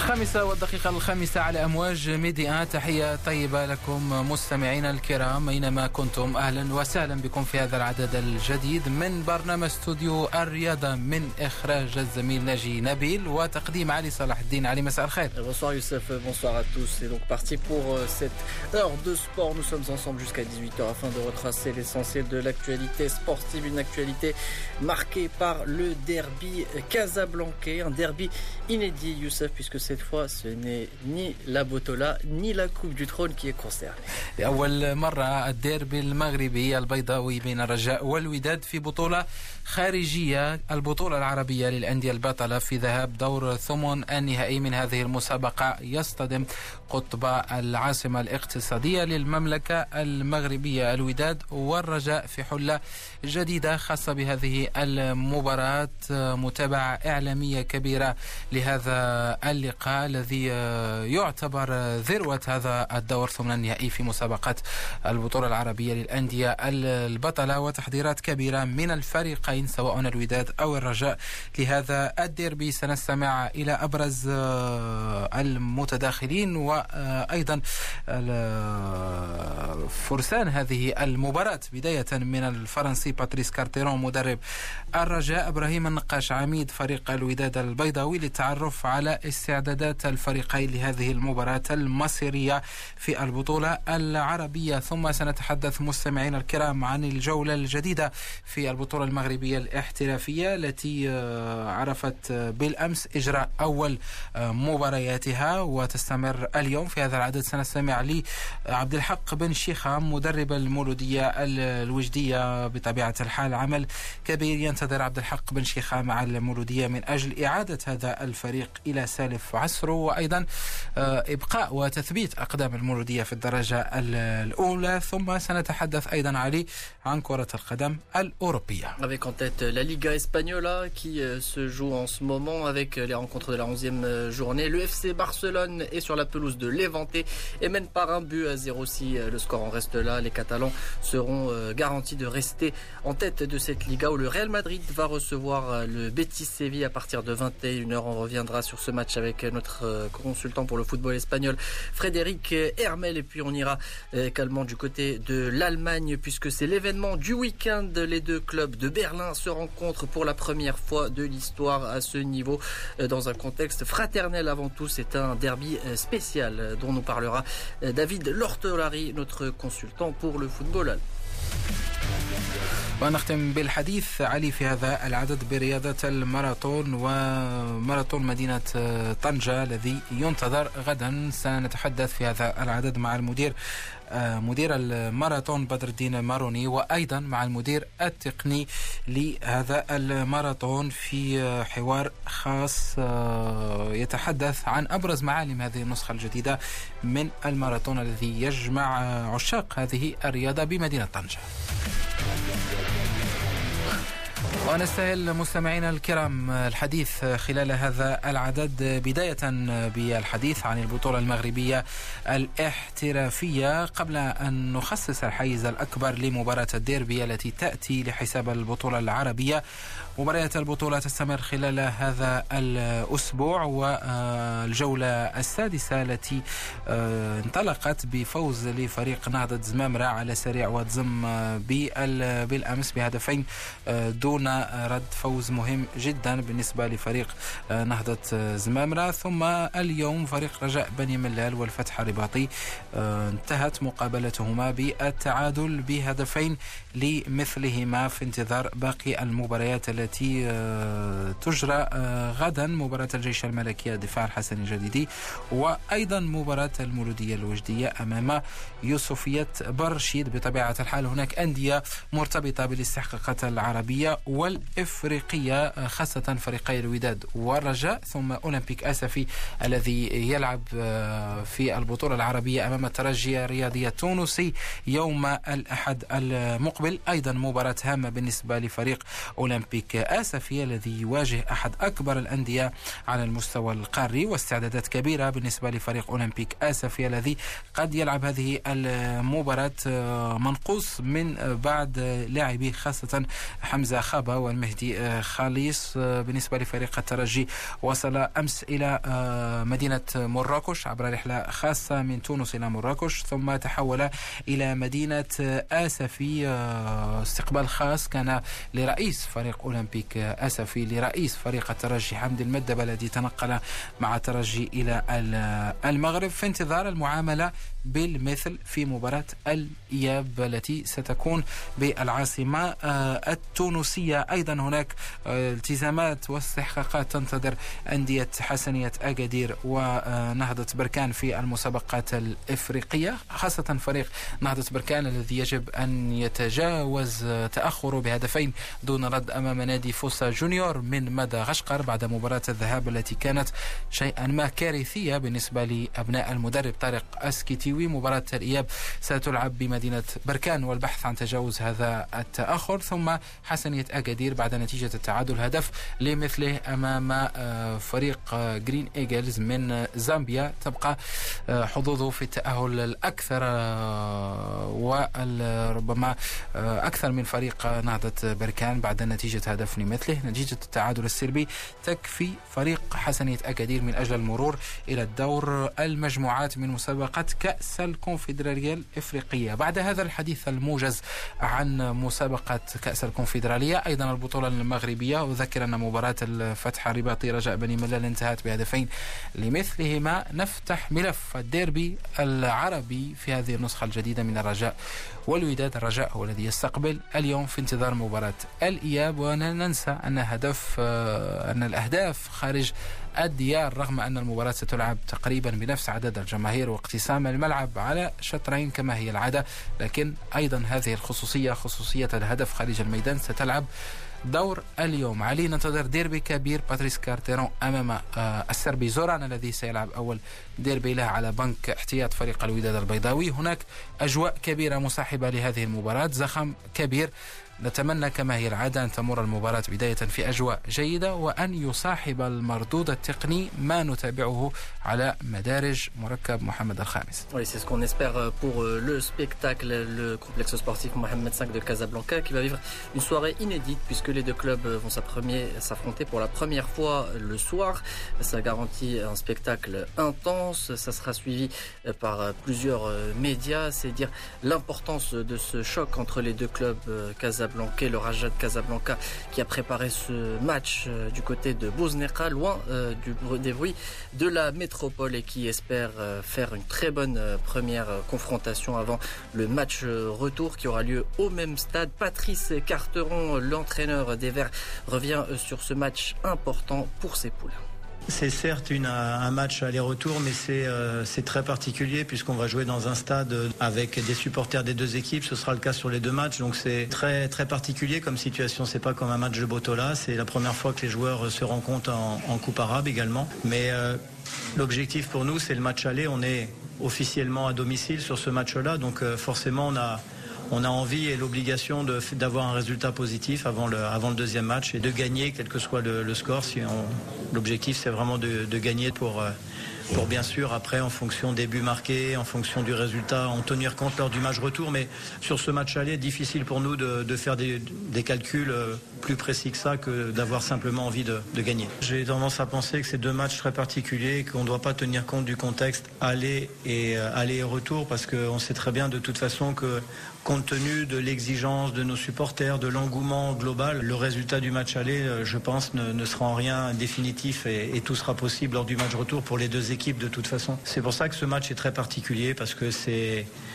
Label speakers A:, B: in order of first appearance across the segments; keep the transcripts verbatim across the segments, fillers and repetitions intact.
A: الخامسة والدقيقة الخامسة على أمواج ميديا. تحية طيبة لكم مستمعينا الكرام أينما كنتم، أهلا وسهلا بكم في هذا العدد الجديد من برنامج استوديو الرياضة من إخراج الزميل ناجي نبيل وتقديم علي صلاح الدين. علي، مساء الخير.
B: Bonsoir Youssef, bonsoir à tous. C'est donc parti pour cette heure de sport. Nous sommes ensemble jusqu'à dix-huit heures afin de retracer l'essentiel de l'actualité sportive. Une actualité marquée par le derby casablancais, un derby inédit Youssef, puisque cette fois ce n'est ni la Botola ni la Coupe du Trône qui est concernée.
A: لأول مرة الديربي المغربي البيضاوي بين الرجاء والوداد في بطولة خارجية، البطولة العربية للأندية البطلة في ذهاب دور ثمن النهائي من هذه المسابقة، يصطدم قطب العاصمة الاقتصادية للمملكة المغربية الوداد والرجاء في حلة جديدة خاصة بهذه المباراة. متابعة إعلامية كبيرة لهذا اللقاء الذي يعتبر ذروة هذا الدور ثمن النهائي في مسابقة البطولة العربية للأندية البطلة، وتحضيرات كبيرة من الفريقين سواء الوداد أو الرجاء لهذا الديربي. سنستمع إلى أبرز المتداخلين وأيضا فرسان هذه المباراة، بداية من الفرنسي باتريس كارتيرون مدرب الرجاء، إبراهيم النقاش عميد فريق الوداد البيضاوي، للتعرف على استعدادات الفريقين لهذه المباراة المصيرية في البطولة العربية. ثم سنتحدث مستمعين الكرام عن الجولة الجديدة في البطولة المغربية الاحترافية التي عرفت بالأمس إجراء أول مبارياتها وتستمر اليوم. في هذا العدد سنستمع لعبد الحق بن شيخام مدرب المولودية الوجدية. بطبيعة الحال عمل كبير ينتظر عبد الحق بن شيخام على المولودية من أجل إعادة هذا الفريق إلى سالف عصره، وأيضا إبقاء وتثبيت أقدام المولودية في الدرجة الأولى. ثم سنتحدث أيضا علي عن كرة القدم الأوروبية.
B: Avec en tête la Liga Española qui se joue en ce moment avec les rencontres de la onzième journée. Le F C Barcelone est sur la pelouse de Levante et mène par un but à zéro. Si le score en reste là, les Catalans seront garantis de rester en tête de cette Liga où le Real Madrid va recevoir le Betis Séville à partir de vingt et une heures. On reviendra sur ce match avec notre consultant pour le football espagnol Frédéric Hermel, et puis on ira également du côté de l'Allemagne puisque c'est l'événement du week-end. Les deux clubs de Berlin se rencontrent pour la première fois de l'histoire à ce niveau dans un contexte fraternel avant tout. C'est un derby spécial dont nous parlera David Lortolari, notre consultant pour le football.
A: ونختم بالحديث علي في هذا العدد برياضة الماراثون وماراثون مدينة طنجة الذي ينتظر غدا. سنتحدث في هذا العدد مع المدير مدير الماراثون بدر الدين ماروني، وأيضا مع المدير التقني لهذا الماراثون في حوار خاص يتحدث عن أبرز معالم هذه النسخة الجديدة من الماراثون الذي يجمع عشاق هذه الرياضة بمدينة طنجة. ونستهل مستمعينا الكرام الحديث خلال هذا العدد بداية بالحديث عن البطولة المغربية الاحترافية قبل أن نخصص الحيز الأكبر لمباراة الديربي التي تأتي لحساب البطولة العربية. مباريات البطولة تستمر خلال هذا الأسبوع، والجولة السادسة التي انطلقت بفوز لفريق نهضة زمامرة على سريع وتزم بالأمس بهدفين دون رد، فوز مهم جدا بالنسبة لفريق نهضة زمامرة. ثم اليوم فريق رجاء بني ملال والفتح الرباطي انتهت مقابلتهما بالتعادل بهدفين لمثلهما في انتظار باقي المباريات التي تجرى غدا، مباراة الجيش الملكي الدفاع الحسني الجديدي، وأيضا مباراة المولودية الوجدية أمام يوسفية برشيد. بطبيعة الحال هناك أندية مرتبطة بالاستحقاقات العربية والإفريقية خاصة فريقي الوداد والرجاء، ثم أولمبيك أسفي الذي يلعب في البطولة العربية أمام الترجي الرياضي التونسي يوم الأحد المقبل. أيضا مباراة هامة بالنسبة لفريق أولمبيك آسفي الذي يواجه أحد أكبر الأندية على المستوى القاري، واستعدادات كبيرة بالنسبة لفريق أولمبيك آسفي الذي قد يلعب هذه المباراة منقوص من بعض لاعبيه خاصة حمزة خابا والمهدي خالص. بالنسبة لفريق الترجي وصل أمس إلى مدينة مراكش عبر رحلة خاصة من تونس إلى مراكش، ثم تحول إلى مدينة آسفي. استقبال خاص كان لرئيس فريق أولمبيك آسفي لرئيس فريق الترجي حمدي المدبة الذي تنقل مع الترجي إلى المغرب في انتظار المعاملة بالمثل في مباراة الإياب التي ستكون بالعاصمة التونسية. أيضا هناك التزامات واستحقاقات تنتظر أندية حسنية أكادير ونهضة بركان في المسابقات الإفريقية، خاصة فريق نهضة بركان الذي يجب أن يتجاوز تأخره بهدفين دون رد أمام نادي فوسا جونيور من مدغشقر بعد مباراة الذهاب التي كانت شيئا ما كارثية بالنسبة لأبناء المدرب طارق أسكيتيوي. مباراة الإياب ستلعب بمدينة بركان والبحث عن تجاوز هذا التأخر، ثم حسنية أكادير بعد نتيجة التعادل هدف لمثله أمام فريق جرين إيجلز من زامبيا تبقى حظوظه في التأهل الأكثر وربما أكثر من فريق نهضة بركان بعد نتيجة هدف لمثله. نتيجة التعادل السلبي تكفي فريق حسنية أكادير من أجل المرور إلى الدور المجموعات من مسابقة كأس الكونفدرالية الإفريقية. بعد هذا الحديث الموجز عن مسابقة كأس الكونفدرالية، أيضا البطولة المغربية، أذكر أن مباراة الفتح الرباطي رجاء بني ملال انتهت بهدفين لمثلهما. نفتح ملف الديربي العربي في هذه النسخة الجديدة من الرجاء والوداد. الرجاء هو الذي يستقبل اليوم في انتظار مباراة الإياب، وننسى أن هدف أن الأهداف خارج الديار رغم أن المباراة ستلعب تقريبا بنفس عدد الجماهير واقتسام الملعب على شطرين كما هي العادة، لكن أيضا هذه الخصوصية خصوصية الهدف خارج الميدان ستلعب دور اليوم. علي ننتظر ديربي كبير، باتريس كارتيرون أمام السربي زوران الذي سيلعب أول ديربي له على بنك احتياط فريق الوداد البيضاوي. هناك أجواء كبيرة مصاحبة لهذه المباراة، زخم كبير. نتمنى كما هي العادة أن تمر المباراة بداية في أجواء جيدة وأن يصاحب المردود التقني ما نتابعه على مدارج مركب محمد الخامس.
B: Oui, c'est ce qu'on espère pour le spectacle, le complexe sportif Mohamed cinq de Casablanca qui va vivre une soirée inédite puisque les deux clubs vont s'affronter pour la première fois le soir. Ça garantit un spectacle intense, ça sera suivi par plusieurs médias, c'est dire l'importance de ce choc entre les deux clubs casablancais. Le Raja de Casablanca qui a préparé ce match euh, du côté de Bouzneka, loin euh, du, des bruits de la métropole et qui espère euh, faire une très bonne euh, première euh, confrontation avant le match euh, retour qui aura lieu au même stade. Patrice Carteron, l'entraîneur des Verts, revient euh, sur ce match important pour ses poules.
C: C'est certes une, un match aller-retour, mais c'est euh, c'est très particulier puisqu'on va jouer dans un stade avec des supporters des deux équipes. Ce sera le cas sur les deux matchs, donc c'est très très particulier comme situation. C'est pas comme un match de Botola. C'est la première fois que les joueurs se rencontrent en, en Coupe arabe également. Mais euh, l'objectif pour nous, c'est le match aller. On est officiellement à domicile sur ce match-là, donc euh, forcément on a On a envie et l'obligation de, d'avoir un résultat positif avant le, avant le deuxième match et de gagner quel que soit le, le score. Si on, l'objectif c'est vraiment de, de gagner pour, pour bien sûr après en fonction des buts marqués, en fonction du résultat, en tenir compte lors du match retour. Mais sur ce match aller, difficile pour nous de, de faire des, des calculs plus précis que ça, que d'avoir simplement envie de, de gagner. J'ai tendance à penser que c'est deux matchs très particuliers, qu'on ne doit pas tenir compte du contexte aller et, aller et retour, parce qu'on sait très bien de toute façon que compte tenu de l'exigence de nos supporters, de l'engouement global, le résultat du match aller, je pense, ne, ne sera en rien définitif et, et tout sera possible lors du match retour pour les deux équipes de toute façon. C'est pour ça que ce match est très particulier parce que c'est...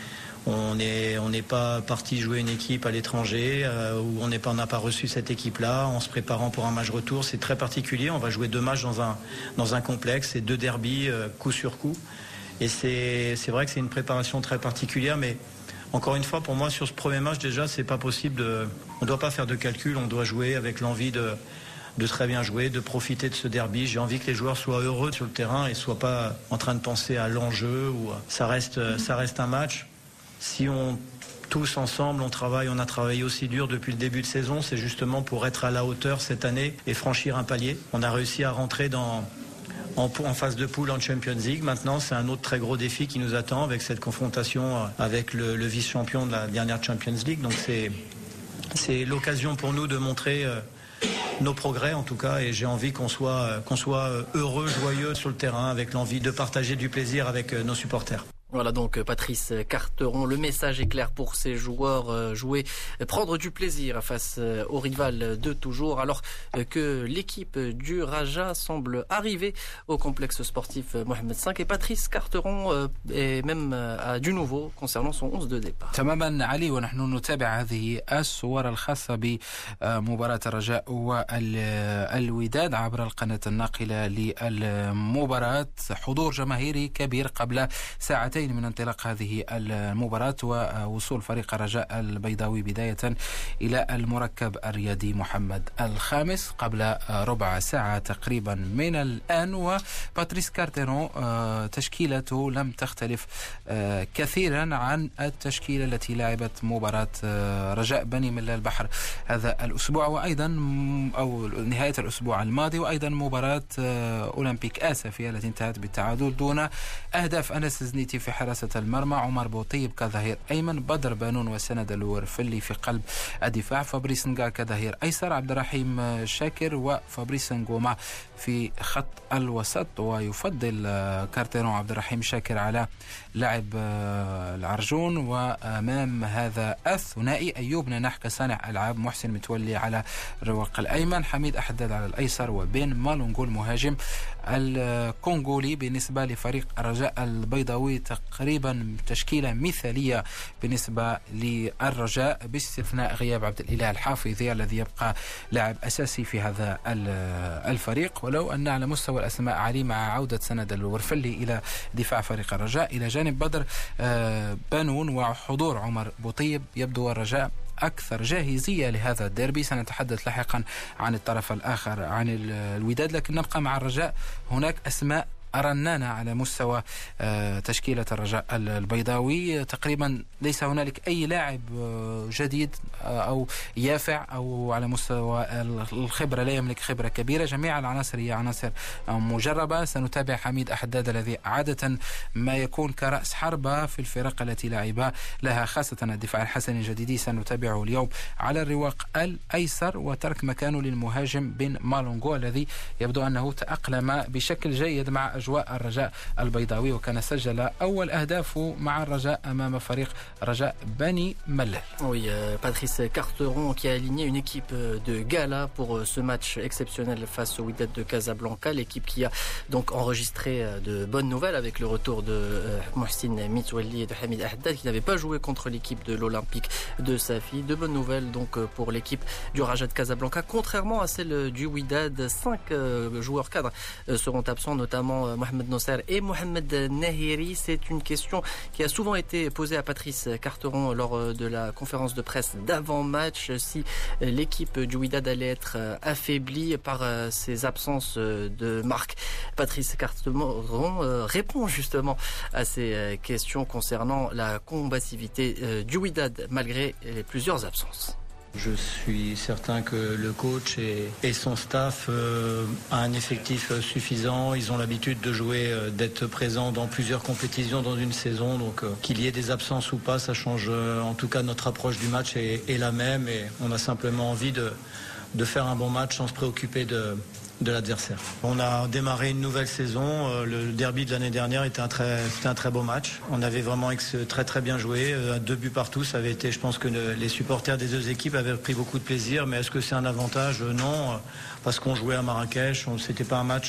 C: On n'est on n'est pas parti jouer une équipe à l'étranger euh, où on n'est pas, on n'a pas reçu cette équipe-là en se préparant pour un match retour. C'est très particulier. On va jouer deux matchs dans un, dans un complexe et deux derbys euh, coup sur coup. Et c'est, c'est vrai que c'est une préparation très particulière, mais encore une fois, pour moi, sur ce premier match, déjà, c'est pas possible de... On ne doit pas faire de calcul, on doit jouer avec l'envie de, de très bien jouer, de profiter de ce derby. J'ai envie que les joueurs soient heureux sur le terrain et ne soient pas en train de penser à l'enjeu. Ou... Ça reste, ça reste un match. Si on... Tous ensemble, on travaille, on a travaillé aussi dur depuis le début de saison, c'est justement pour être à la hauteur cette année et franchir un palier. On a réussi à rentrer dans... En, en phase de poule en Champions League. Maintenant, c'est un autre très gros défi qui nous attend avec cette confrontation avec le, le vice-champion de la dernière Champions League. Donc c'est, c'est l'occasion pour nous de montrer euh, nos progrès en tout cas, et j'ai envie qu'on soit, euh, qu'on soit heureux, joyeux sur le terrain, avec l'envie de partager du plaisir avec euh, nos supporters.
B: Voilà donc Patrice Carteron, le message est clair pour ses joueurs, jouer, prendre du plaisir face au rival de toujours, alors que l'équipe du Raja semble arriver au complexe sportif Mohamed cinq, et Patrice Carteron est même à du nouveau concernant son onze de départ.
A: تماما علي، ونحن نتابع هذه الصور الخاصة بمباراة الرجاء والوداد عبر القناة الناقلة للمباراة. حضور جماهيري كبير قبل ساعتين من انطلاق هذه المباراة ووصول فريق الرجاء البيضاوي بداية إلى المركب الرياضي محمد الخامس قبل ربع ساعة تقريبا من الآن. وباتريس كارتيرون تشكيلته لم تختلف كثيرا عن التشكيلة التي لعبت مباراة رجاء بني ملا البحر هذا الأسبوع، وأيضا أو نهاية الأسبوع الماضي، وأيضا مباراة أولمبيك آسفية التي انتهت بالتعادل دون أهداف. أنس زنيتي في حراسة المرمى، عمر بوطيب كظهير أيمن، بدر بانون وسند الورفلي في قلب الدفاع، فابريس نقا كظهير أيسر، عبد الرحيم شاكر وفابريس نقوما في خط الوسط. ويفضل كارتيرون عبد الرحيم شاكر على لاعب العرجون، وأمام هذا الثنائي أيوب نناح كصانع ألعاب، محسن متولي على الرواق الأيمن، حميد أحداد على الأيسر، وبين مالونغو المهاجم الكونغولي. بالنسبة لفريق الرجاء البيضاوي تقريبا تشكيلة مثالية بالنسبة للرجاء باستثناء غياب عبد الإله الحافظي الذي يبقى لاعب أساسي في هذا الفريق، ولو أن على مستوى الأسماء علي مع عودة سند الورفلي إلى دفاع فريق الرجاء إلى جانب بدر بانون وحضور عمر بوطيب، يبدو الرجاء أكثر جاهزية لهذا الديربي. سنتحدث لاحقا عن الطرف الآخر عن الوداد، لكن نبقى مع الرجاء. هناك أسماء رنانة على مستوى تشكيلة الرجاء البيضاوي، تقريبا ليس هنالك أي لاعب جديد أو يافع أو على مستوى الخبرة لا يملك خبرة كبيرة، جميع العناصر هي عناصر مجربة. سنتابع حميد أحداد الذي عادة ما يكون كرأس حربة في الفرق التي لعب لها، خاصة الدفاع الحسني الجديدي سنتابعه اليوم على الرواق الأيسر، وترك مكانه للمهاجم بن مالونغو الذي يبدو أنه تأقلم بشكل جيد مع أجواء الرجاء البيضاوي، وكان سجل أول أهدافه مع الرجاء أمام فريق رجاء بني ملال.
B: Oui, euh, Patrice Carteron qui a aligné une équipe de gala pour ce match exceptionnel face au Wydad de Casablanca, l'équipe qui a donc enregistré de bonnes nouvelles avec le retour de euh, Mohsin Mitwali et de Hamid Ahdad qui n'avaient pas joué contre l'équipe de l'Olympique de Safi. De bonnes nouvelles donc pour l'équipe du Raja de Casablanca, contrairement à celle du Wydad. Cinq euh, joueurs cadres euh, seront absents, notamment euh, Mohamed Nosser et Mohamed Nahiri. C'est une question qui a souvent été posée à Patrice Carteron lors de la conférence de presse d'avant-match, si l'équipe du Wydad allait être affaiblie par ces absences de marque. Patrice Carteron répond justement à ces questions concernant la combativité du Wydad malgré les plusieurs absences.
C: Je suis certain que le coach et, et son staff euh, a un effectif suffisant. Ils ont l'habitude de jouer, euh, d'être présents dans plusieurs compétitions dans une saison. Donc euh, qu'il y ait des absences ou pas, ça change. Euh, en tout cas, notre approche du match est, est la même et on a simplement envie de, de faire un bon match sans se préoccuper de... de l'adversaire. On a démarré une nouvelle saison. Le derby de l'année dernière était un très, c'était un très beau match. On avait vraiment très très bien joué. Deux buts partout, ça avait été, je pense que les supporters des deux équipes avaient pris beaucoup de plaisir. Mais est-ce que c'est un avantage? Non, parce qu'on jouait à Marrakech. C'était pas un match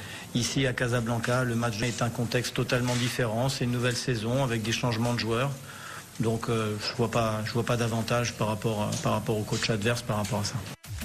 C: ici à Casablanca. Le match est un contexte totalement différent. C'est une nouvelle saison avec des changements de joueurs. Donc euh, je vois pas, je vois pas d'avantage par rapport, par rapport au coach adverse par rapport à ça.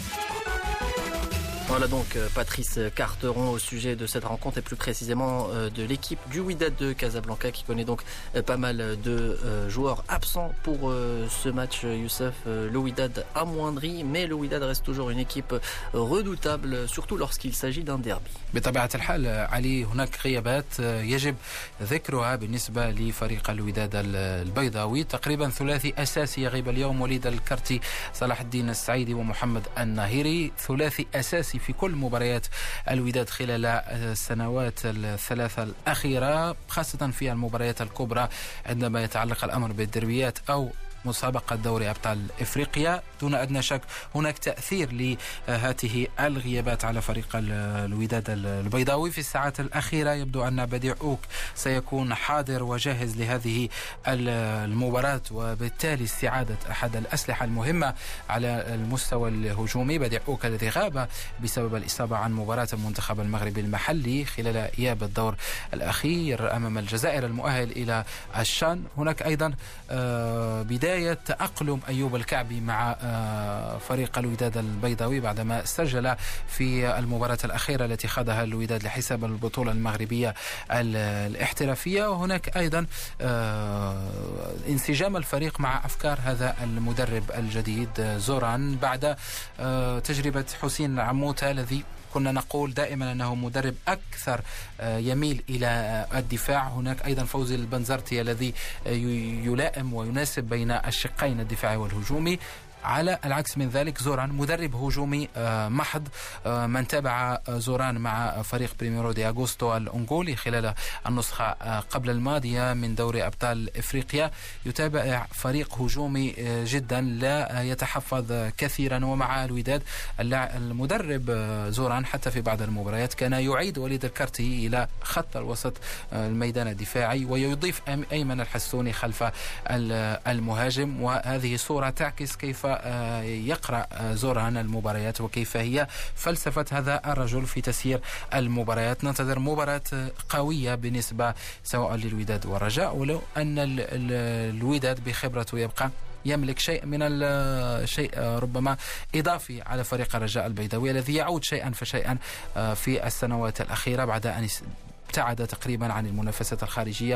B: Voilà donc Patrice Carteron au sujet de cette rencontre et plus précisément de l'équipe du Wydad de Casablanca qui connaît donc pas mal de joueurs absents pour ce match. Youssef, le Wydad amoindri, mais le Wydad reste toujours une équipe redoutable, surtout lorsqu'il s'agit d'un derby.
A: بطبيعة الحال علي هناك غيابات يجب ذكرها بالنسبة لفريق الوداد البيضاوي. تقريبا ثلاثي أساسي يغيب اليوم، وليد الكرتي، صلاح الدين السعيدي ومحمد الناهيري، ثلاثي أساسي في كل مباريات الوداد خلال السنوات الثلاثة الأخيرة، خاصة في المباريات الكبرى عندما يتعلق الأمر بالدربيات أو مسابقة دوري أبطال إفريقيا. دون أدنى شك هناك تأثير لهذه الغيابات على فريق الوداد البيضاوي. في الساعات الأخيرة يبدو أن بديع أوك سيكون حاضر وجاهز لهذه المباراة، وبالتالي استعادة أحد الأسلحة المهمة على المستوى الهجومي. بديع أوك الذي غاب بسبب الإصابة عن مباراة المنتخب المغربي المحلي خلال إياب الدور الأخير أمام الجزائر المؤهل إلى الشان. هناك أيضا بداية تأقلم أيوب الكعبي مع فريق الوداد البيضاوي بعدما سجل في المباراة الأخيرة التي خاضها الوداد لحساب البطولة المغربية الاحترافية. وهناك أيضا انسجام الفريق مع أفكار هذا المدرب الجديد زوران بعد تجربة حسين عموتة الذي كنا نقول دائما أنه مدرب أكثر يميل إلى الدفاع. هناك أيضا فوزي البنزرتي الذي يلائم ويناسب بين الشقين الدفاعي والهجومي. على العكس من ذلك زوران مدرب هجومي محض. من تابع زوران مع فريق بريميرو دي أغوستو الأنغولي خلال النسخة قبل الماضية من دوري أبطال إفريقيا يتابع فريق هجومي جدا لا يتحفظ كثيرا. ومع الوداد المدرب زوران حتى في بعض المباريات كان يعيد وليد الكرتي إلى خط الوسط الميدان الدفاعي ويضيف أيمن الحسوني خلف المهاجم. وهذه صورة تعكس كيف يقرأ زوران المباريات وكيف هي فلسفة هذا الرجل في تسيير المباريات. ننتظر مباراة قوية بالنسبة سواء للوداد والرجاء، ولو أن الوداد بخبرته يبقى يملك شيء من الشيء ربما إضافي على فريق الرجاء البيضاوي الذي يعود شيئا فشيئا في السنوات الأخيرة بعد أن ابتعد تقريبا عن المنافسات الخارجية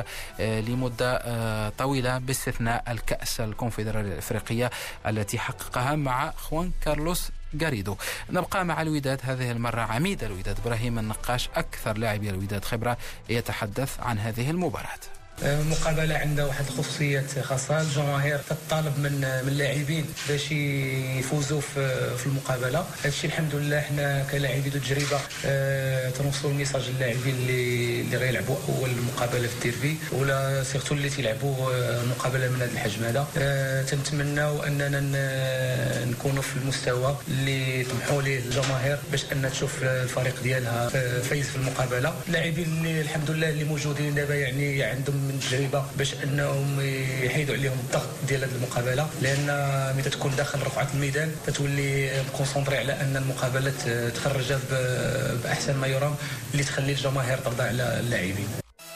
A: لمدة طويلة باستثناء الكأس الكونفدرالية الإفريقية التي حققها مع خوان كارلوس غاريدو. نبقى مع الوداد هذه المرة عميد الوداد إبراهيم النقاش أكثر لاعبي الوداد خبرة يتحدث عن هذه المباراة.
D: مقابلة عندها واحد الخصوصيات خاصة. الجماهير تطالب من من اللاعبين باش يفوزوا في في المقابلة. هذا الشيء الحمد لله حنا كلاعبين تجربة أه تنوصلوا الميساج للاعبين اللي اللي غيلعبوا اول مقابلة في الديربي ولا سيرتو اللي تيلعبوا مقابلة من هذا الحجم هذا. أه تنتمناو اننا نكونوا في المستوى اللي طمحوا ليه الجماهير باش ان تشوف الفريق ديالها فايز في المقابلة. اللاعبين اللي الحمد لله اللي موجودين دابا يعني عندهم من تجربه باش انهم يحيدوا عليهم الضغط ديال هذه المقابله، لان ملي تكون داخل رقعه الميدان تتولي مكونسونطري على ان المقابله تخرجها باحسن ما يرام اللي تخلي الجماهير ترضى على اللاعبين.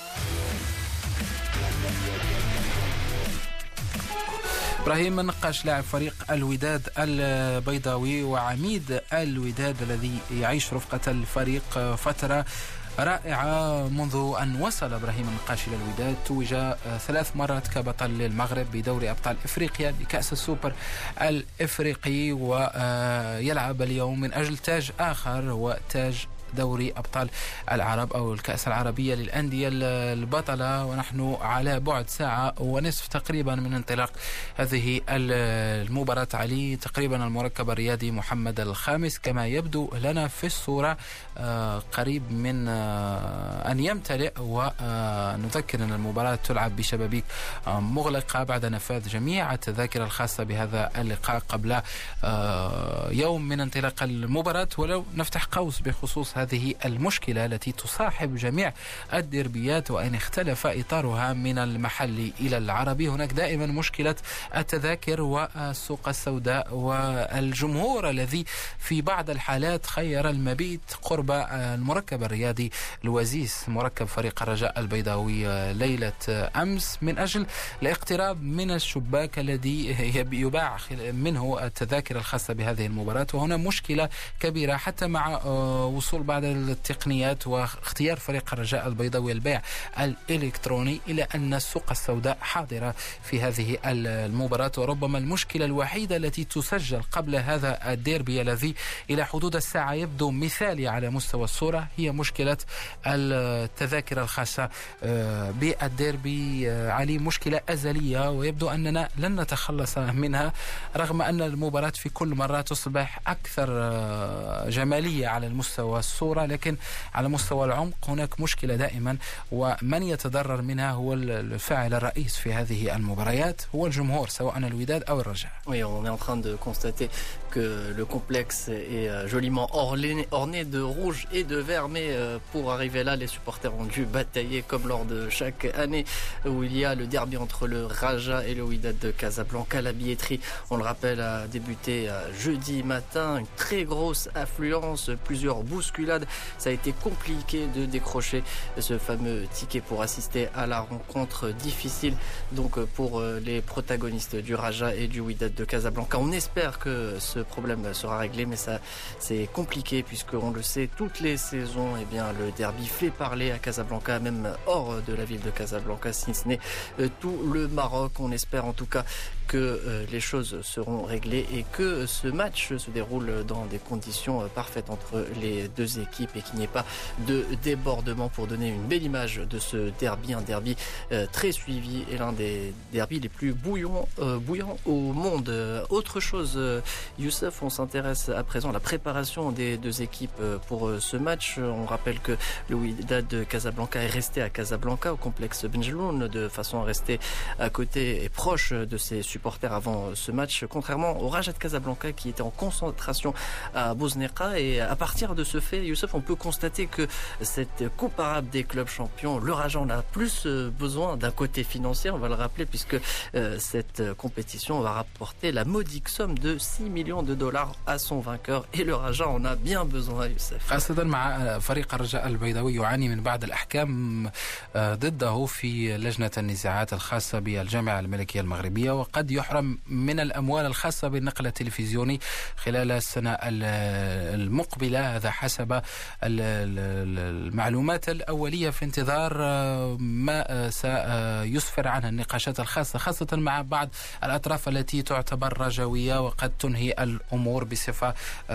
A: إبراهيم النقاش لاعب فريق الوداد البيضاوي وعميد الوداد الذي يعيش رفقة الفريق فترة رائعة منذ أن وصل إبراهيم النقاش إلى الوداد. توج ثلاث مرات كبطل للمغرب بدوري أبطال إفريقيا بكأس السوبر الإفريقي، ويلعب اليوم من أجل تاج آخر هو تاج دوري أبطال العرب أو الكأس العربية للأندية البطلة. ونحن على بعد ساعة ونصف تقريبا من انطلاق هذه المباراة. علي تقريبا المركب الرياضي محمد الخامس كما يبدو لنا في الصورة قريب من أن يمتلئ. ونذكر أن المباراة تلعب بشبابيك مغلقة بعد نفاذ جميع التذاكر الخاصة بهذا اللقاء قبل يوم من انطلاق المباراة. ولو نفتح قوس بخصوص هذه المشكلة التي تصاحب جميع الديربيات وإن اختلف إطارها من المحلي إلى العربي، هناك دائما مشكلة التذاكر والسوق السوداء والجمهور الذي في بعض الحالات خير المبيت قرب المركب الرياضي الوزيس مركب فريق الرجاء البيضاوي ليلة أمس من أجل الاقتراب من الشباك الذي يباع منه التذاكر الخاصة بهذه المباراة. وهنا مشكلة كبيرة حتى مع وصول بعض التقنيات واختيار فريق الرجاء البيضاوي البيع الإلكتروني، إلى أن السوق السوداء حاضرة في هذه المباراة. وربما المشكلة الوحيدة التي تسجل قبل هذا الديربي الذي إلى حدود الساعة يبدو مثالي على مستوى الصورة هي مشكلة التذاكر الخاصة بالديربي. علي مشكلة أزلية ويبدو أننا لن نتخلص منها رغم أن المباراة في كل مرة تصبح أكثر جمالية على المستوى الصورة الصورة، لكن على مستوى العمق هناك مشكلة دائما، ومن يتضرر منها هو الفاعل الرئيس في هذه المباريات هو الجمهور سواء الوداد أو الرجاء.
B: Oui, on est en train de constater que le complexe est joliment orné, orné de rouge et de vert, mais pour arriver là, les supporters ont dû batailler comme lors de chaque année où il y a le derby entre le Raja et le Wydad de Casablanca. La billetterie, on le rappelle, a débuté jeudi matin, une très grosse affluence, plusieurs bousculades. Ça a été compliqué de décrocher ce fameux ticket pour assister à la rencontre difficile donc pour les protagonistes du Raja et du Wydad de Casablanca. On espère que ce problème sera réglé, mais ça c'est compliqué puisque on le sait, toutes les saisons, eh bien le derby fait parler à Casablanca, même hors de la ville de Casablanca, si ce n'est tout le Maroc. On espère en tout cas que euh, les choses seront réglées et que ce match se déroule dans des conditions euh, parfaites entre les deux équipes et qu'il n'y ait pas de débordement pour donner une belle image de ce derby, un derby euh, très suivi et l'un des derbys les plus bouillants, euh, bouillants au monde. Euh, autre chose, euh, Youssef, on s'intéresse à présent à la préparation des deux équipes euh, pour euh, ce match. On rappelle que le Wydad de Casablanca est resté à Casablanca au complexe Benjeloun de façon à rester à côté et proche de ses supporters avant ce match, contrairement au Raja de Casablanca qui était en concentration à Bosneka. Et à partir de ce fait, Youssef, on peut constater que cette coupe arabe des clubs champions, le Raja en a plus besoin d'un côté financier, on va le rappeler, puisque euh, cette compétition va rapporter la modique somme de six millions de dollars à son vainqueur, et le Raja en a bien besoin, Youssef.
A: خاصة مع فريق الرجاء البيضاوي يعاني من بعض الأحكام ضده في لجنة النزاعات الخاصة بالجامعة الملكية المغربية، وقد يحرم من الأموال الخاصة بالنقل التلفزيوني خلال السنة المقبلة. هذا حسب المعلومات الأولية في انتظار ما سيسفر عنها النقاشات الخاصة، خاصة مع بعض الأطراف التي تعتبر رجوية وقد تنهي الأمور بصفة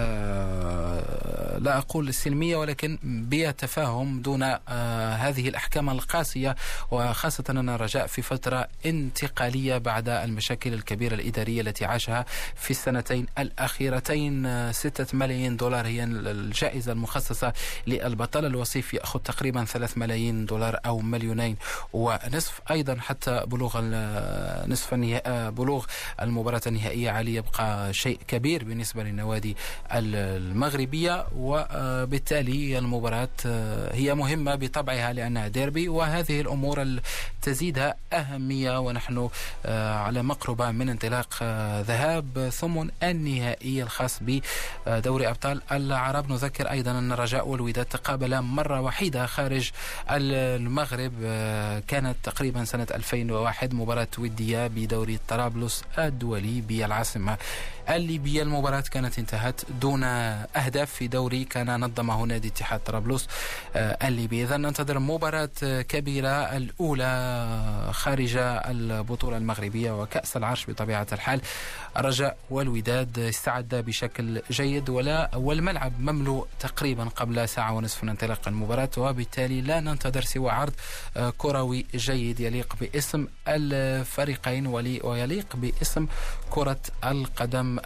A: لا أقول سلمية ولكن بتفاهم دون هذه الأحكام القاسية، وخاصة أن الرجاء في فترة انتقالية بعد المشاكل الكبيرة الإدارية التي عاشها في السنتين الأخيرتين. ستة ملايين دولار هي الجائزة المخصصة للبطل، الوصيف يأخذ تقريبا ثلاث ملايين دولار أو مليونين ونصف أيضا حتى بلوغ نصف النهائي، بلوغ المباراة النهائية عليه يبقى شيء كبير بالنسبة للنوادي المغربية، وبالتالي المباراة هي مهمة بطبعها لأنها ديربي، وهذه الأمور تزيدها أهمية ونحن على مقربة من انطلاق ذهاب ثم النهائي الخاص بدوري أبطال العرب. نذكر أيضا أن الرجاء والوداد تقابلا مرة وحيدة خارج المغرب، كانت تقريبا سنة ألفين وواحد مباراة ودية بدوري طرابلس الدولي بالعاصمة الليبية. المباراة كانت انتهت دون أهداف في دوري كان نظمه نادي اتحاد طرابلس الليبي. إذن ننتظر مباراة كبيرة الأولى خارج البطولة المغربية وكأس العرش بطبيعة الحال. الرجاء والوداد استعد بشكل جيد ولا والملعب مملوء تقريبا قبل ساعة ونصف من انطلاق المباراة، وبالتالي لا ننتظر سوى عرض كروي جيد يليق باسم الفريقين ويليق باسم كرة القدم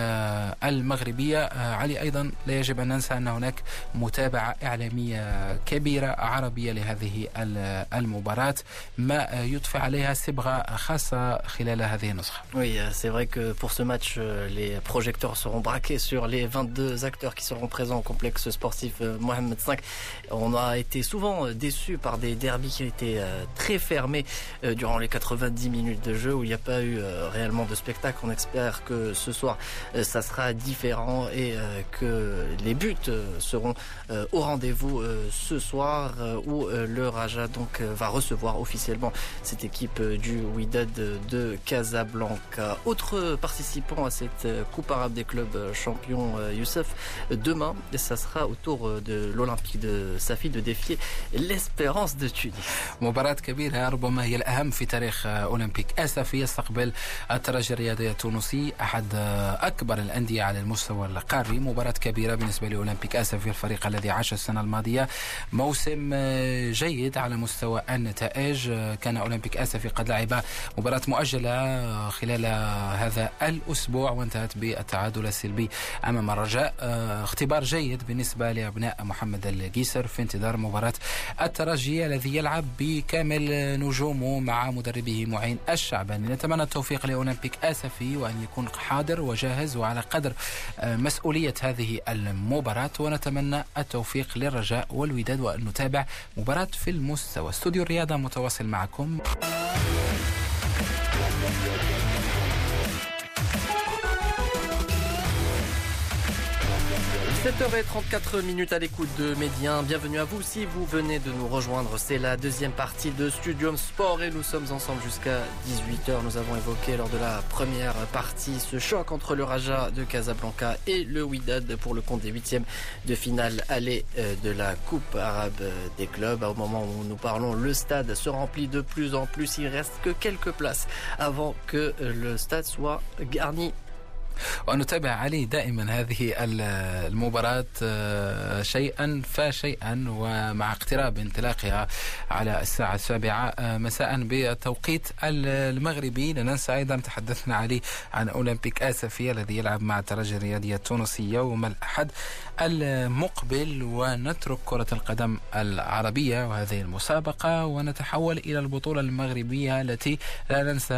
A: المغربية. علي أيضا لا يجب أن ننسى أن هناك متابعة إعلامية كبيرة عربية لهذه المباراة ما يضفي عليها صبغة خاصة خلال هذه النسخة.
B: Oui, c'est vrai que pour ce match, les projecteurs seront braqués sur les vingt-deux acteurs qui seront présents au complexe sportif Mohamed cinq. On a été souvent déçus par des derbys qui étaient très fermés durant les quatre-vingt-dix minutes de jeu où il n'y a pas eu réellement de spectacle. On espère que ce soir, ça sera différent et que les buts seront au rendez-vous ce soir où le Raja donc va recevoir officiellement cette équipe du Wydad de Casablanca. Autre participant à cette Coupe arabe des clubs champions, Youssef, demain, ça sera au tour de l'Olympique de Safi de défier l'Espérance de Tunis.
A: مباراة كبيرة ربما هي الأهم في تاريخ أولمبيك آسفي يستقبل الترجي الرياضي التونسي أحد أكبر الأندية على المستوى القاري. مباراة كبيرة بالنسبة لأولمبيك آسفي، الفريق الذي عاش السنة الماضية موسم جيد على مستوى النتائج. كان أولمبيك آسفي قد لعب مباراة مؤجلة خلال هذا الأسبوع وانتهت بالتعادل السلبي أمام الرجاء. اختبار جيد بالنسبة لأبناء محمد القيسر في انتظار مباراة الترجي الذي يلعب بكامل نجومه مع مدربه معين الشعباني. نتمنى التوفيق لأولمبيك آسفي وأن يكون حاضر وجاهز وعلى قدر مسؤولية هذه المباراة، ونتمنى التوفيق للرجاء والوداد وأن نتابع مباراة في المستوى. استوديو الرياضة متواصل معكم.
B: sept heures trente-quatre minutes à l'écoute de Médien. Bienvenue à vous si vous venez de nous rejoindre. C'est la deuxième partie de Studium Sport et nous sommes ensemble jusqu'à dix-huit heures. Nous avons évoqué lors de la première partie ce choc entre le Raja de Casablanca et le Wydad pour le compte des huitièmes de finale aller de la Coupe arabe des clubs. Au moment où nous parlons, le stade se remplit de plus en plus. Il reste que quelques places avant que le stade soit garni.
A: ونتابع علي دائما هذه المباراة شيئا فشيئا، ومع اقتراب انطلاقها على الساعة السابعة مساء بالتوقيت المغربي. لا ننسى أيضا تحدثنا علي عن أولمبيك آسفي الذي يلعب مع الترجي الرياضية التونسية يوم الأحد المقبل. ونترك كرة القدم العربية وهذه المسابقة ونتحول إلى البطولة المغربية التي لا ننسى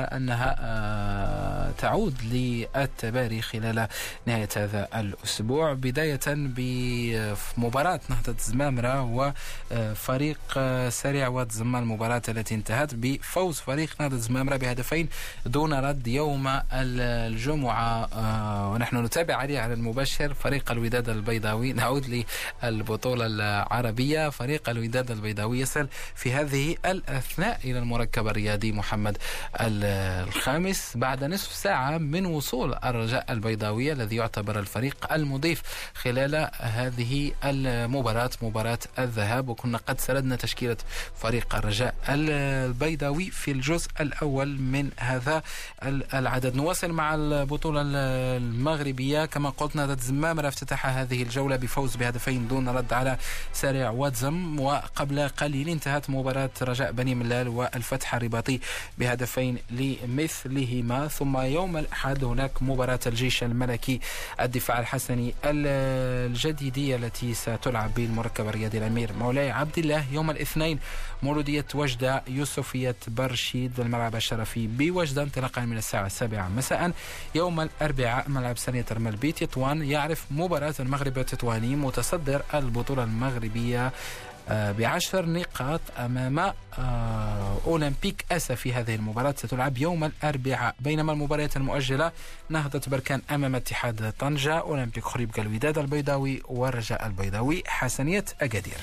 A: أنها تعود للتبادل خلال نهاية هذا الأسبوع، بداية بمباراة نهضة زمامرة وفريق سريع واد زمان، المباراة التي انتهت بفوز فريق نهضة زمامرة بهدفين دون رد يوم الجمعة. ونحن نتابع عليه على المباشر فريق الوداد البيضاوي. نعود للبطولة العربية. فريق الوداد البيضاوي يصل في هذه الأثناء إلى المركب الرياضي محمد الخامس بعد نصف ساعة من وصول الرجاء البيضاوية الذي يعتبر الفريق المضيف خلال هذه المباراة، مباراة الذهاب. وكنا قد سردنا تشكيلة فريق الرجاء البيضاوي في الجزء الأول من هذا العدد. نواصل مع البطولة المغربية. كما قلت نهضة زمامرة افتتح هذه الجولة بفوز بهدفين دون رد على سريع واتزم، وقبل قليل انتهت مباراة رجاء بني ملال والفتح الرباطي بهدفين لمثلهما. ثم يوم الأحد هناك مباراة الجيش الملكي الدفاع الحسني الجديدية التي ستلعب بالمركب الرياضي الأمير مولاي عبد الله. يوم الاثنين مولودية وجدة يوسفية برشيد بالملعب الشرفي بوجدة انطلاقا من الساعة السابعة مساء. يوم الأربعاء ملعب سنية ترمل تطوان يعرف مباراة المغرب التطواني متصدر البطولة المغربية بعشر نقاط أمام أولمبيك آسفي. هذه المباراة ستلعب يوم الأربعاء. بينما المباريات المؤجلة نهضة بركان أمام اتحاد طنجة، أولمبيك خريبكا الوداد البيضاوي والرجاء البيضاوي حسنية أكادير.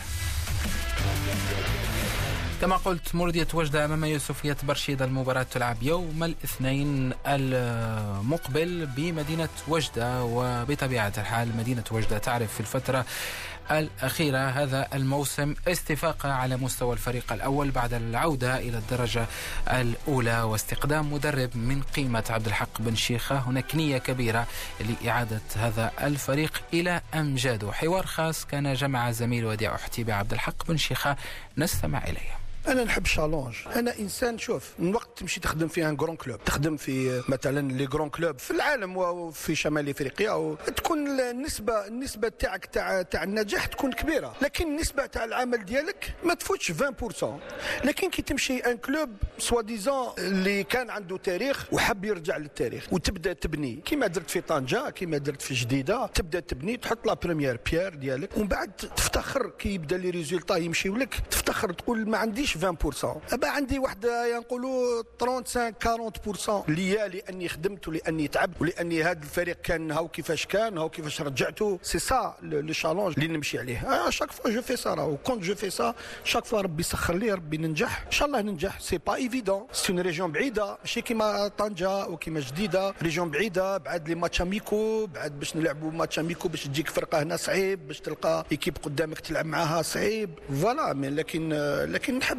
A: كما قلت مولودية وجدة أمام يوسفية برشيد. المباراة تلعب يوم الاثنين المقبل بمدينة وجدة، وبطبيعة الحال مدينة وجدة تعرف في الفترة الأخيرة هذا الموسم استفاقة على مستوى الفريق الأول بعد العودة إلى الدرجة الأولى واستقدام مدرب من قيمة عبد الحق بن شيخة. هناك نية كبيرة لإعادة هذا الفريق إلى أمجاده. حوار خاص كان جمع زميل وديع أحتيبة عبد الحق بن شيخة، نستمع إليه.
E: انا نحب الشالونج. انا انسان شوف من وقت تمشي تخدم في ان غران كلوب، تخدم في مثلا لي غران كلوب في العالم وفي شمال افريقيا، تكون النسبه النسبه تاعك تاع تاع النجاح تكون كبيره، لكن النسبه تاع العمل ديالك ما تفوتش عشرين بالمئة. لكن كي تمشي ان كلوب سوا ديزون اللي كان عنده تاريخ وحب يرجع للتاريخ وتبدا تبني كيما درت في طنجه كيما درت في جديده، تبدا تبني تحط لا بريمير بيير ديالك ومن بعد تفتخر كي يبدا لي ريزولطا يمشيو لك، تفتخر تقول ما عنديش عشرين بالمئة، ابا عندي واحد ينقولوا خمسة وثلاثين أربعين بالمئة ليا لاني خدمت ولاني تعبت ولاني هذا الفريق كان هاو كيفاش كان هاو كيفاش رجعته. سي سا لو شالونج اللي نمشي عليه. شاك فوا جو في سا راهو كونت جو في سا شاك فوا ربي يسخر لي ربي ننجح ان شاء الله ننجح. سي با ايفيدون، سي اون ريجيون بعيده ماشي كيما طنجه وكيما جديده، ريجيون بعيده بعد لي ماتش اميكو، بعد باش نلعبوا ماتش اميكو باش تجيك فرقه هنا صعيب، باش تلقى ايكيب قدامك تلعب معاها صعيب فوالا. لكن لكن نحب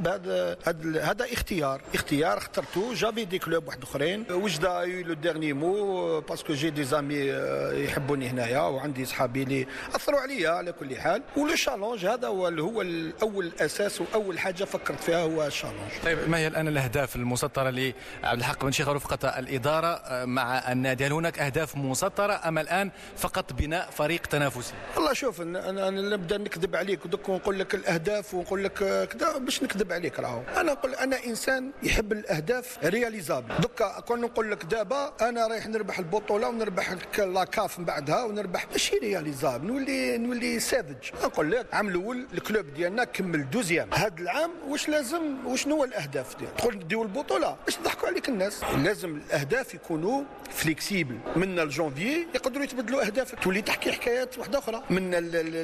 E: نحب هذا هذا اختيار اختيار اخترته. جافي دي كلوب واحد اخرين وجده يو لو ديرني مو باسكو جي دي زامي يحبوني هنايا وعندي صحابي اللي اثروا عليا على كل حال. ولو شالونج هذا هو هو الاول اساس واول حاجه فكرت فيها هو الشالونج.
F: طيب ما هي الان الاهداف المسطره لعبد الحق بن شيخ ورفقه الاداره مع النادي؟ هل هناك اهداف مسطره ام الان فقط بناء فريق تنافسي؟
E: والله شوف انا انا نبدا نكذب عليك ودك ونقول لك الاهداف ونقول لك كذا باش نكذب عليك. راهو انا نقول انا انسان يحب الاهداف رياليزابل. دوكا كون نقول لك دابا انا رايح نربح البطوله ونربح لاكاف من بعدها ونربح ماشي رياليزابل. نولي نولي ساذج. نقول لك عام الاول الكلوب ديالنا كمل دوزيام. هذا العام واش لازم وشنو هو الاهداف ديال تدخل نديو البطوله باش نضحكوا عليك الناس؟ لازم الاهداف يكونوا فليكسيبل. من الجانفي يقدروا يتبدلوا اهدافك تولي تحكي حكايات واحده اخرى. من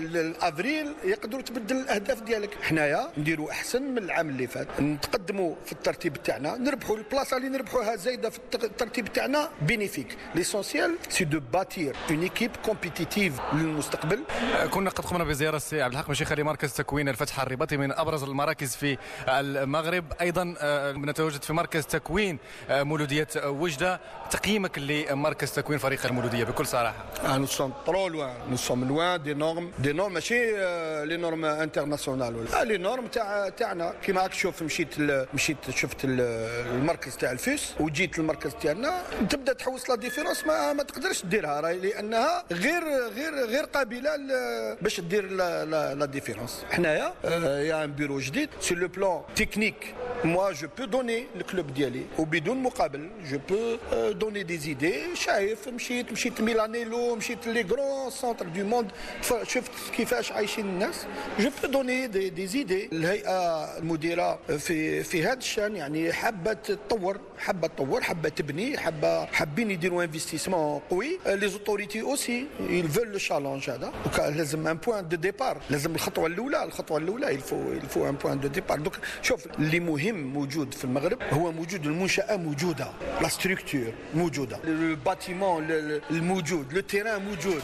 E: الافريل يقدروا تبدل الاهداف ديالك. حنايا نديروا احسن من العام اللي فات. نتقدموا في الترتيب تاعنا نربحوا البلاصه اللي نربحوها زايده في الترتيب تاعنا بينيفيك. ليسونسيال سي دو باتير اون ايكيب كومبيتيتيف للمستقبل.
F: كنا قد قمنا بزياره السي عبد الحق بن شيخ لمركز تكوين الفتح الرباطي من ابرز المراكز في المغرب. ايضا نتواجد في مركز تكوين مولوديه وجده. تقييمك لمركز تكوين فريق المولوديه بكل صراحه؟
E: نو سوم ترو لوان نو سوم لوان دي نورم دي نورم ماشي لي نورم انترناسيونال ولا لي نورم تاع تاعنا. كيما راك تشوف مشيت مشيت شفت المركز تاع الفيس وجيت المركز تاعنا تبدا تحوس لا ديفيرونس ما, ما تقدرش ديرها راهي لانها غير غير غير قابله باش دير لا, لا ديفيرونس. حنايا يا ان بيرو جديد سي لو بلان تكنيك. moi je peux donner le club ديالي وبدون مقابل je peux donner des idées. شايف مشيت مشيت ميلانيلو مشيت لي غران سونتر دو موند شفت كيفاش عايشين الناس. je peux donner des, des idées. الهيئه المديره في في هذا الشان يعني حابه تطور حابه تطور حابه تبني حابه حابين يديروا انفستيسمون قوي. لي زوتوريتي اوسي ils veulent le challenge هذا. لازم ان بوين دو ديبار. لازم الخطوه الاولى الخطوه الاولى il faut il faut un point de départ. دوك شوف اللي مهم موجود في المغرب هو موجود. المنشأة موجودة. لا ستركتور موجودة. الباتيمون الموجود. لو تيران موجود.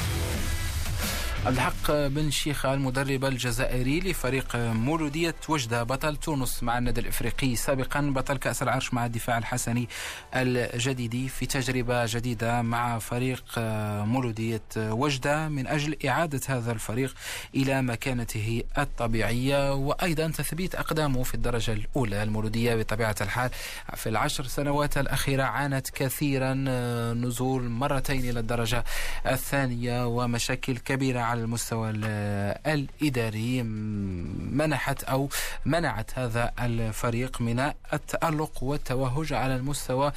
A: عبد الحق بن شيخة المدرب الجزائري لفريق مولودية وجدة بطل تونس مع النادي الإفريقي سابقا بطل كأس العرش مع الدفاع الحسني الجديدي في تجربة جديدة مع فريق مولودية وجدة من أجل إعادة هذا الفريق إلى مكانته الطبيعية وأيضا تثبيت أقدامه في الدرجة الأولى. المولودية بطبيعة الحال في العشر سنوات الأخيرة عانت كثيرا نزول مرتين إلى الدرجة الثانية ومشاكل كبيرة على المستوى الإداري منحت أو منعت هذا الفريق من التألق والتوهج على المستوى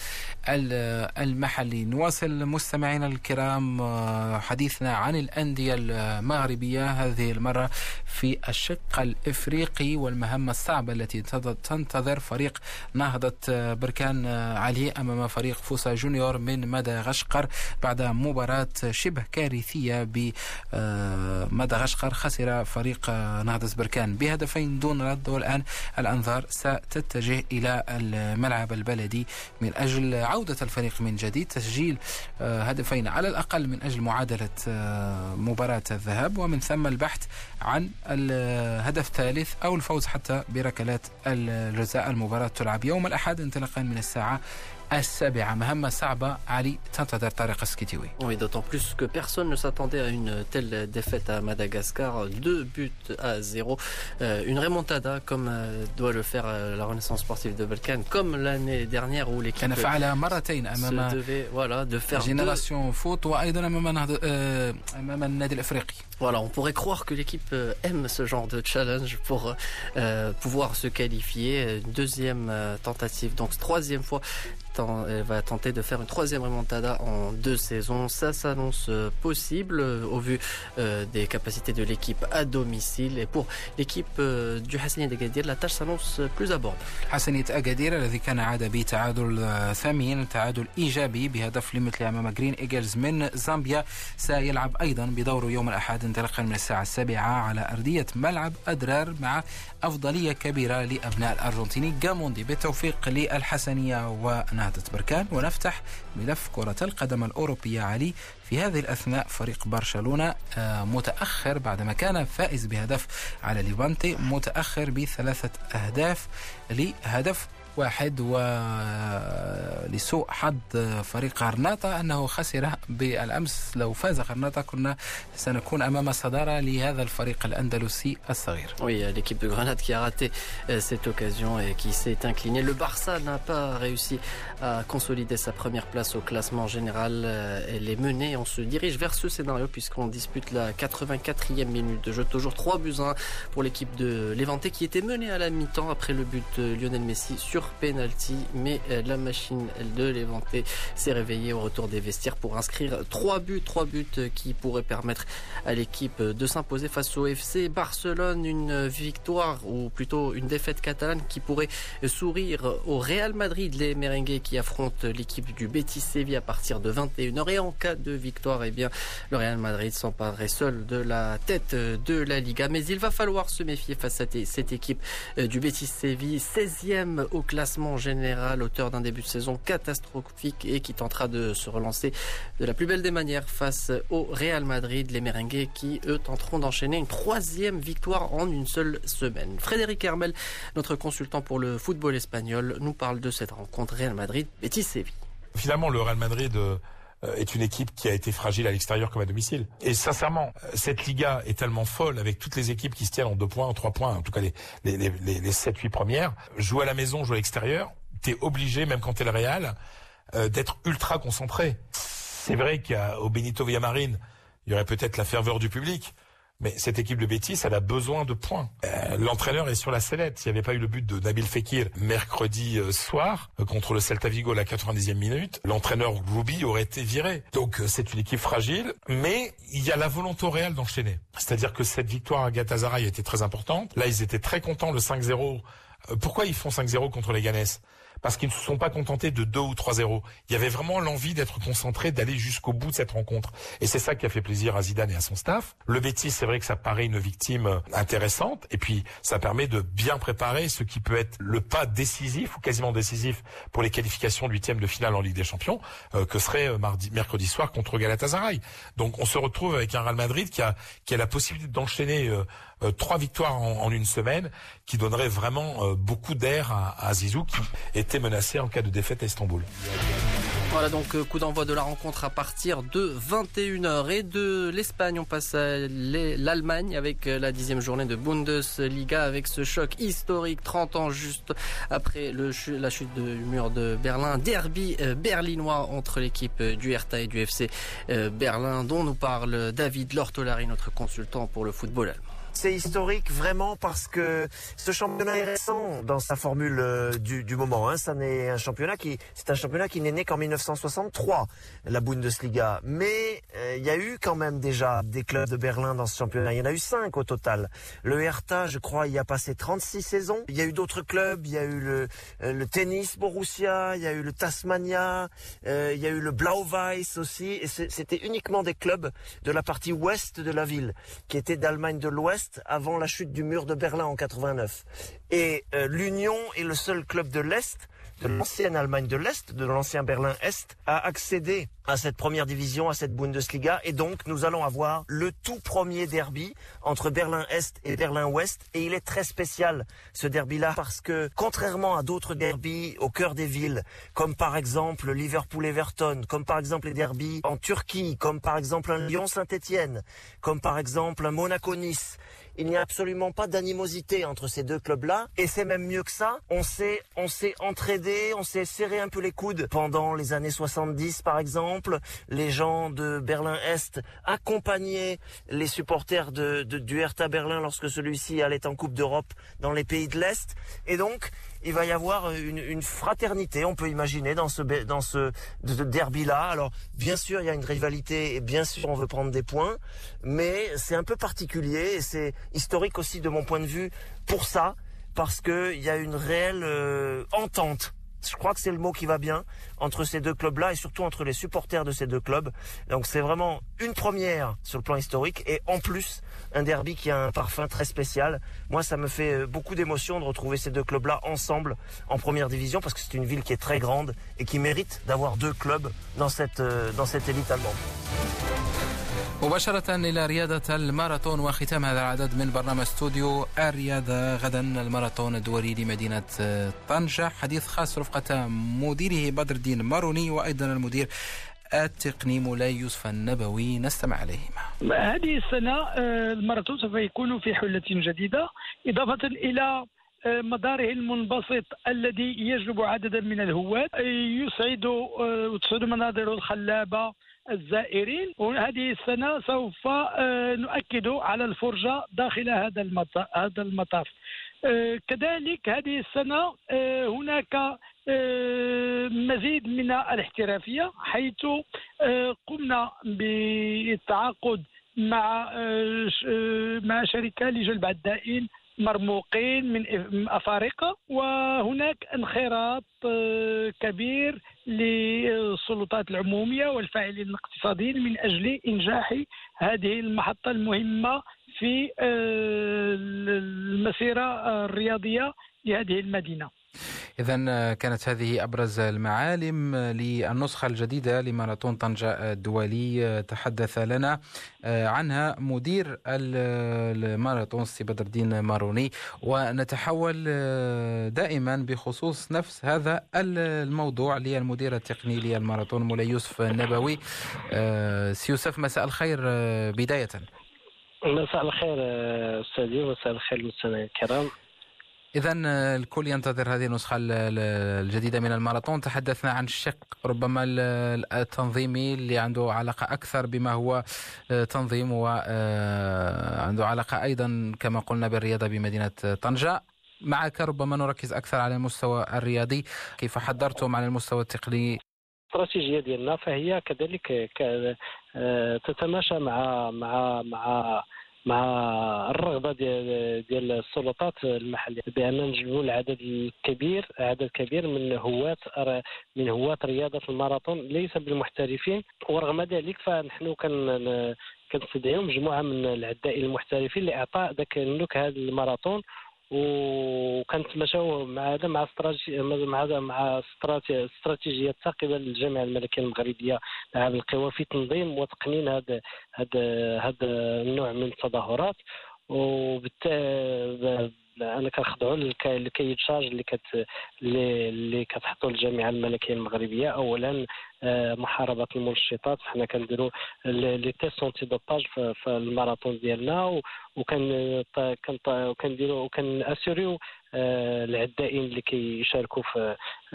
A: المحلي. نواصل مستمعينا الكرام حديثنا عن الأندية المغربية هذه المرة في الشق الإفريقي والمهمة الصعبة التي تنتظر فريق نهضة بركان علي أمام فريق فوسا جونيور من مدغشقر بعد مباراة شبه كارثية ب مدغشقر. خسر فريق نهضة بركان بهدفين دون رد والآن الأنظار ستتجه إلى الملعب البلدي من أجل عودة الفريق من جديد تسجيل هدفين على الأقل من أجل معادلة مباراة الذهاب ومن ثم البحث عن الهدف الثالث أو الفوز حتى بركلات الجزاء. المباراة تلعب يوم الأحد انطلاقا من الساعة السابعة. مهمة صعبة علي تنتظر طارق السكيتيوي.
B: Oui, d'autant plus que personne ne s'attendait à une telle défaite à Madagascar. Deux buts à zéro. Euh, une remontada comme euh, doit le faire euh, la Renaissance sportive de Balkan, comme l'année dernière où l'équipe
A: كان فعلها مرتين أمام
B: se devait, voilà, de faire
A: جينيراسيون فوت وأيضا أمام أمام النادي الإفريقي.
B: Voilà, on pourrait croire que l'équipe aime ce genre de challenge pour euh, pouvoir se qualifier. Une deuxième euh, tentative, donc troisième fois. Elle va tenter de faire une troisième remontada en deux saisons. Ça s'annonce possible au vu euh, des capacités de l'équipe à domicile. Et pour l'équipe euh, du Hassaniya d'Agadir, la tâche s'annonce plus abordable.
A: حسنية أكادير الذي كان عاد بتعادل ثمين تعادل إيجابي بهدف لمثل أمام جرين إيجلز من زامبيا سيلعب أيضا بدوره يوم الأحد انطلاقا من الساعة السابعة على أرضية ملعب أدرار مع أفضلية كبيرة لأبناء الأرجنتيني جاموندي. بالتوفيق للحسنية ونهضة نهضة بركان. ونفتح ملف كرة القدم الأوروبية علي. في هذه الأثناء فريق برشلونة متأخر بعدما كان فائز بهدف على ليفانتي، متأخر بثلاثة أهداف لهدف واحد، ولسوء حظ فريق غرناطة أنه خسر بالأمس. لو فاز غرناطة كنا سنكون أمام صدارة لهذا الفريق الأندلسي الصغير.
B: Oui, l'équipe de Grenade qui a raté cette occasion et qui s'est inclinée. Le Barça n'a pas réussi à consolider sa première place au classement général. Elle est menée, on se dirige vers ce scénario puisqu'on dispute la quatre-vingt-quatrième minute de jeu. Toujours trois buts à un pour l'équipe de Levante qui était menée à la mi-temps après le but de Lionel Messi sur penalty, mais la machine de Levante s'est réveillée au retour des vestiaires pour inscrire trois buts, trois buts qui pourraient permettre à l'équipe de s'imposer face au F C Barcelone. Une victoire ou plutôt une défaite catalane qui pourrait sourire au Real Madrid, les merengues qui affrontent l'équipe du Betis Séville à partir de vingt et une heures. Et en cas de victoire, eh bien, le Real Madrid s'emparerait seul de la tête de la Liga. Mais il va falloir se méfier face à cette équipe du Betis Séville, seizième au classement général, auteur d'un début de saison catastrophique et qui tentera de se relancer de la plus belle des manières face au Real Madrid. Les merengues qui, eux, tenteront d'enchaîner une troisième victoire en une seule semaine. Frédéric Hermel, notre consultant pour le football espagnol, nous parle de cette rencontre Real Madrid-Betis-Séville.
G: Finalement, le Real Madrid euh, est une équipe qui a été fragile à l'extérieur comme à domicile. Et sincèrement, cette Liga est tellement folle avec toutes les équipes qui se tiennent en deux points, en trois points, en tout cas les, les, les, les sept huit premières. Jouer à la maison, jouer à l'extérieur, t'es obligé, même quand t'es le Real, euh, d'être ultra concentré. C'est vrai qu'au Benito Villamarín, il y aurait peut-être la ferveur du public. Mais cette équipe de Betis, elle a besoin de points. Euh, l'entraîneur est sur la sellette. S'il n'y avait pas eu le but de Nabil Fekir mercredi euh, soir euh, contre le Celta Vigo à la quatre-vingt-dixième minute, l'entraîneur Rubi aurait été viré. Donc euh, c'est une équipe fragile, mais il y a la volonté au Real d'enchaîner. C'est-à-dire que cette victoire à Galatasaray était très importante. Là, ils étaient très contents, le cinq zéro. Euh, pourquoi ils font cinq zéro contre les Ganes ? Parce qu'ils ne se sont pas contentés de deux ou trois zéro. Il y avait vraiment l'envie d'être concentré, d'aller jusqu'au bout de cette rencontre. Et c'est ça qui a fait plaisir à Zidane et à son staff. Le Betis, c'est vrai que ça paraît une victime intéressante. Et puis, ça permet de bien préparer ce qui peut être le pas décisif ou quasiment décisif pour les qualifications de huitième de finale en Ligue des Champions, euh, que serait mardi, mercredi soir contre Galatasaray. Donc, on se retrouve avec un Real Madrid qui a, qui a la possibilité d'enchaîner euh, euh, trois victoires en, en une semaine, qui donnerait vraiment euh, beaucoup d'air à, à Zizou, qui était menacé en cas de défaite à Istanbul.
B: Voilà donc coup d'envoi de la rencontre à partir de vingt et une heures. Et de l'Espagne, on passe à l'Allemagne avec la dixième journée de Bundesliga, avec ce choc historique trente ans juste après le, la chute du mur de Berlin. Derby berlinois entre l'équipe du Hertha et du F C Berlin, dont nous parle David Lortolari, notre consultant pour le football allemand.
H: C'est historique vraiment parce que ce championnat est récent dans sa formule euh, du, du moment. Hein. Ça n'est un championnat qui, c'est un championnat qui n'est né qu'en mille neuf cent soixante-trois, la Bundesliga. Mais euh, il y a eu quand même déjà des clubs de Berlin dans ce championnat. Il y en a eu cinq au total. Le Hertha, je crois, y a passé trente-six saisons. Il y a eu d'autres clubs. Il y a eu le, euh, le tennis Borussia, il y a eu le Tasmania, euh, il y a eu le Blau-Weiß aussi. Et c'était uniquement des clubs de la partie ouest de la ville, qui étaient d'Allemagne de l'Ouest, avant la chute du mur de Berlin en quatre-vingt-neuf. Et euh, l'Union est le seul club de l'Est, de l'ancienne Allemagne de l'Est, de l'ancien Berlin-Est, à accéder à cette première division, à cette Bundesliga. Et donc, nous allons avoir le tout premier derby entre Berlin-Est et Berlin-Ouest. Et il est très spécial, ce derby-là, parce que, contrairement à d'autres derbys au cœur des villes, comme par exemple Liverpool-Everton, comme par exemple les derbys en Turquie, comme par exemple un Lyon-Saint-Étienne, comme par exemple un Monaco-Nice, il n'y a absolument pas d'animosité entre ces deux clubs-là. Et c'est même mieux que ça. On s'est, on s'est entraidé, on s'est serré un peu les coudes pendant les années soixante-dix, par exemple. Les gens de Berlin-Est accompagnaient les supporters de, de, du Hertha Berlin lorsque celui-ci allait en Coupe d'Europe dans les pays de l'Est. Et donc, il va y avoir une, une fraternité, on peut imaginer, dans ce, dans ce derby-là. Alors, bien sûr, il y a une rivalité et bien sûr, on veut prendre des points, mais c'est un peu particulier et c'est historique aussi de mon point de vue pour ça, parce qu'il y a une réelle euh, entente Je crois que c'est le mot qui va bien entre ces deux clubs-là et surtout entre les supporters de ces deux clubs. Donc c'est vraiment une première sur le plan historique et en plus un derby qui a un parfum très spécial. Moi, ça me fait beaucoup d'émotion de retrouver ces deux clubs-là ensemble en première division parce que c'est une ville qui est très grande et qui mérite d'avoir deux clubs dans cette, dans cette élite allemande.
A: مباشرة إلى رياضة الماراثون وختام هذا العدد من برنامج استوديو الرياضة. غدا الماراثون الدولي لمدينة طنجة، حديث خاص رفقة مديره بدر الدين ماروني وأيضا المدير التقني مولاي يوسف النبوي، نستمع عليهما.
I: هذه السنة الماراثون سوف يكون في حلة جديدة إضافة إلى مداره المنبسط الذي يجلب عددا من الهواة، يسعد وتسعد مناظره الخلابة الزائرين. وهذه السنة سوف نؤكد على الفرجة داخل هذا هذا المطاف. كذلك هذه السنة هناك مزيد من الاحترافية، حيث قمنا بالتعاقد مع مع شركة لجلب عدائين مرموقين من أفارقة، وهناك انخراط كبير للسلطات العمومية والفاعلين الاقتصاديين من أجل إنجاح هذه المحطة المهمة في المسيرة الرياضية لهذه المدينة.
A: إذن كانت هذه أبرز المعالم للنسخة الجديدة لماراثون طنجة الدولي، تحدث لنا عنها مدير الماراثون سي بدر الدين ماروني. ونتحول دائما بخصوص نفس هذا الموضوع للمدير التقني للماراثون مولاي يوسف النبوي. سي يوسف، مساء الخير بداية.
J: مساء الخير أستاذي ومساء الخير المستمعين الكرام.
A: إذن الكل ينتظر هذه النسخة الجديدة من الماراثون. تحدثنا عن الشق ربما التنظيمي اللي عنده علاقة أكثر بما هو تنظيم، وعنده علاقة أيضا كما قلنا بالرياضة بمدينة طنجة. معك ربما نركز أكثر على المستوى الرياضي، كيف حضرتم على المستوى التقني؟
J: الاستراتيجية ديالنا فهي كذلك تتماشى مع مع مع مع الرغبة ديال ديال السلطات المحلية بأن نجلبوا العدد الكبير عدد كبير من هواة من هواة رياضة الماراثون ليس بالمحترفين. ورغم ذلك فنحن كن كنستدعيو مجموعة من العدائين المحترفين لإعطاء ذاك النكهة الماراثون. وكنتماشاو مع هذا مع استراتيجيه مع مع استراتيجيه قبل الجامعه الملكيه المغربيه لألعاب القوى في تنظيم وتقنين هذا هذا هذا النوع من التظاهرات. وبالتالي انا كنخضعوا للكايد شارج اللي كت اللي كتحطوا الجامعه الملكيه المغربيه. اولا محاربه المنشطات، حنا كنديروا لي تيست اونتي دوباج في الماراثون ديالنا، وكان كنديروا وكان اسوريو العدائين اللي كيشاركوا في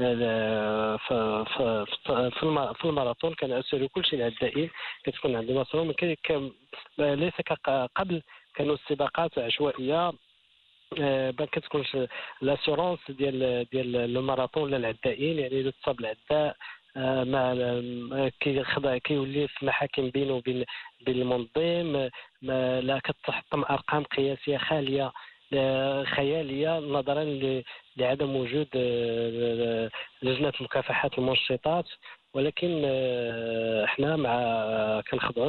J: في في في الماراثون كان اسوريو كلشي العدائين كتكون عندهم مسؤولين. ليس كقبل كانوا السباقات عشوائيه، ما كتكونش لاسيورونس ديال ديال الماراثون للعدائين، يعني اذا تصاب العداء ما كيخضع كيولي في محاكم بينه وبين بين المنظم، لا كتحطم ارقام قياسيه خاليه خياليه نظرا لعدم وجود لجنه مكافحه المنشطات. ولكن احنا مع كنخضعوا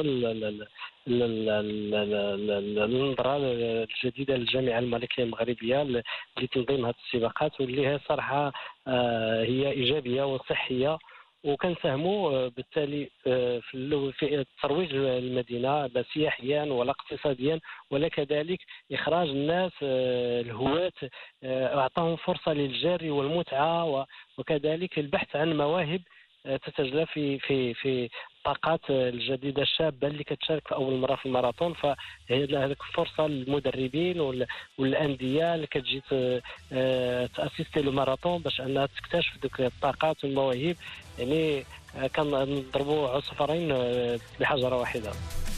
J: للنظره الجديده للجامعه الملكيه المغربيه لتنظيم هذه السباقات، واللي هي صراحه هي ايجابيه وصحيه. وكنساهموا بالتالي في ترويج المدينه لا سياحيا ولا اقتصاديا ولا كذلك اخراج الناس الهواة، اعطاهم فرصه للجري والمتعه وكذلك البحث عن مواهب تتجلى في في في الطاقات الجديده الشابه اللي كتشارك في اول مره في الماراثون. فهي هذيك فرصه للمدربين والانديه اللي كتجي تاسيستي الماراثون باش انها تكتشف ذوك الطاقات والمواهب. يعني كنضربوا عصفورين بحجره واحده.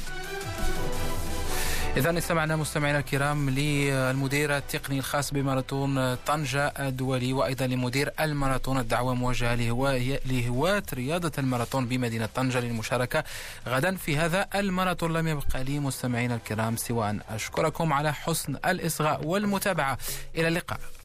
A: إذن استمعنا مستمعينا الكرام للمدير التقني الخاص بماراثون طنجة الدولي وأيضا لمدير الماراثون. الدعوة موجهة لهواة رياضة الماراثون بمدينة طنجة للمشاركة غدا في هذا الماراثون. لم يبقى لي مستمعينا الكرام سوى أن أشكركم على حسن الإصغاء والمتابعة. إلى اللقاء.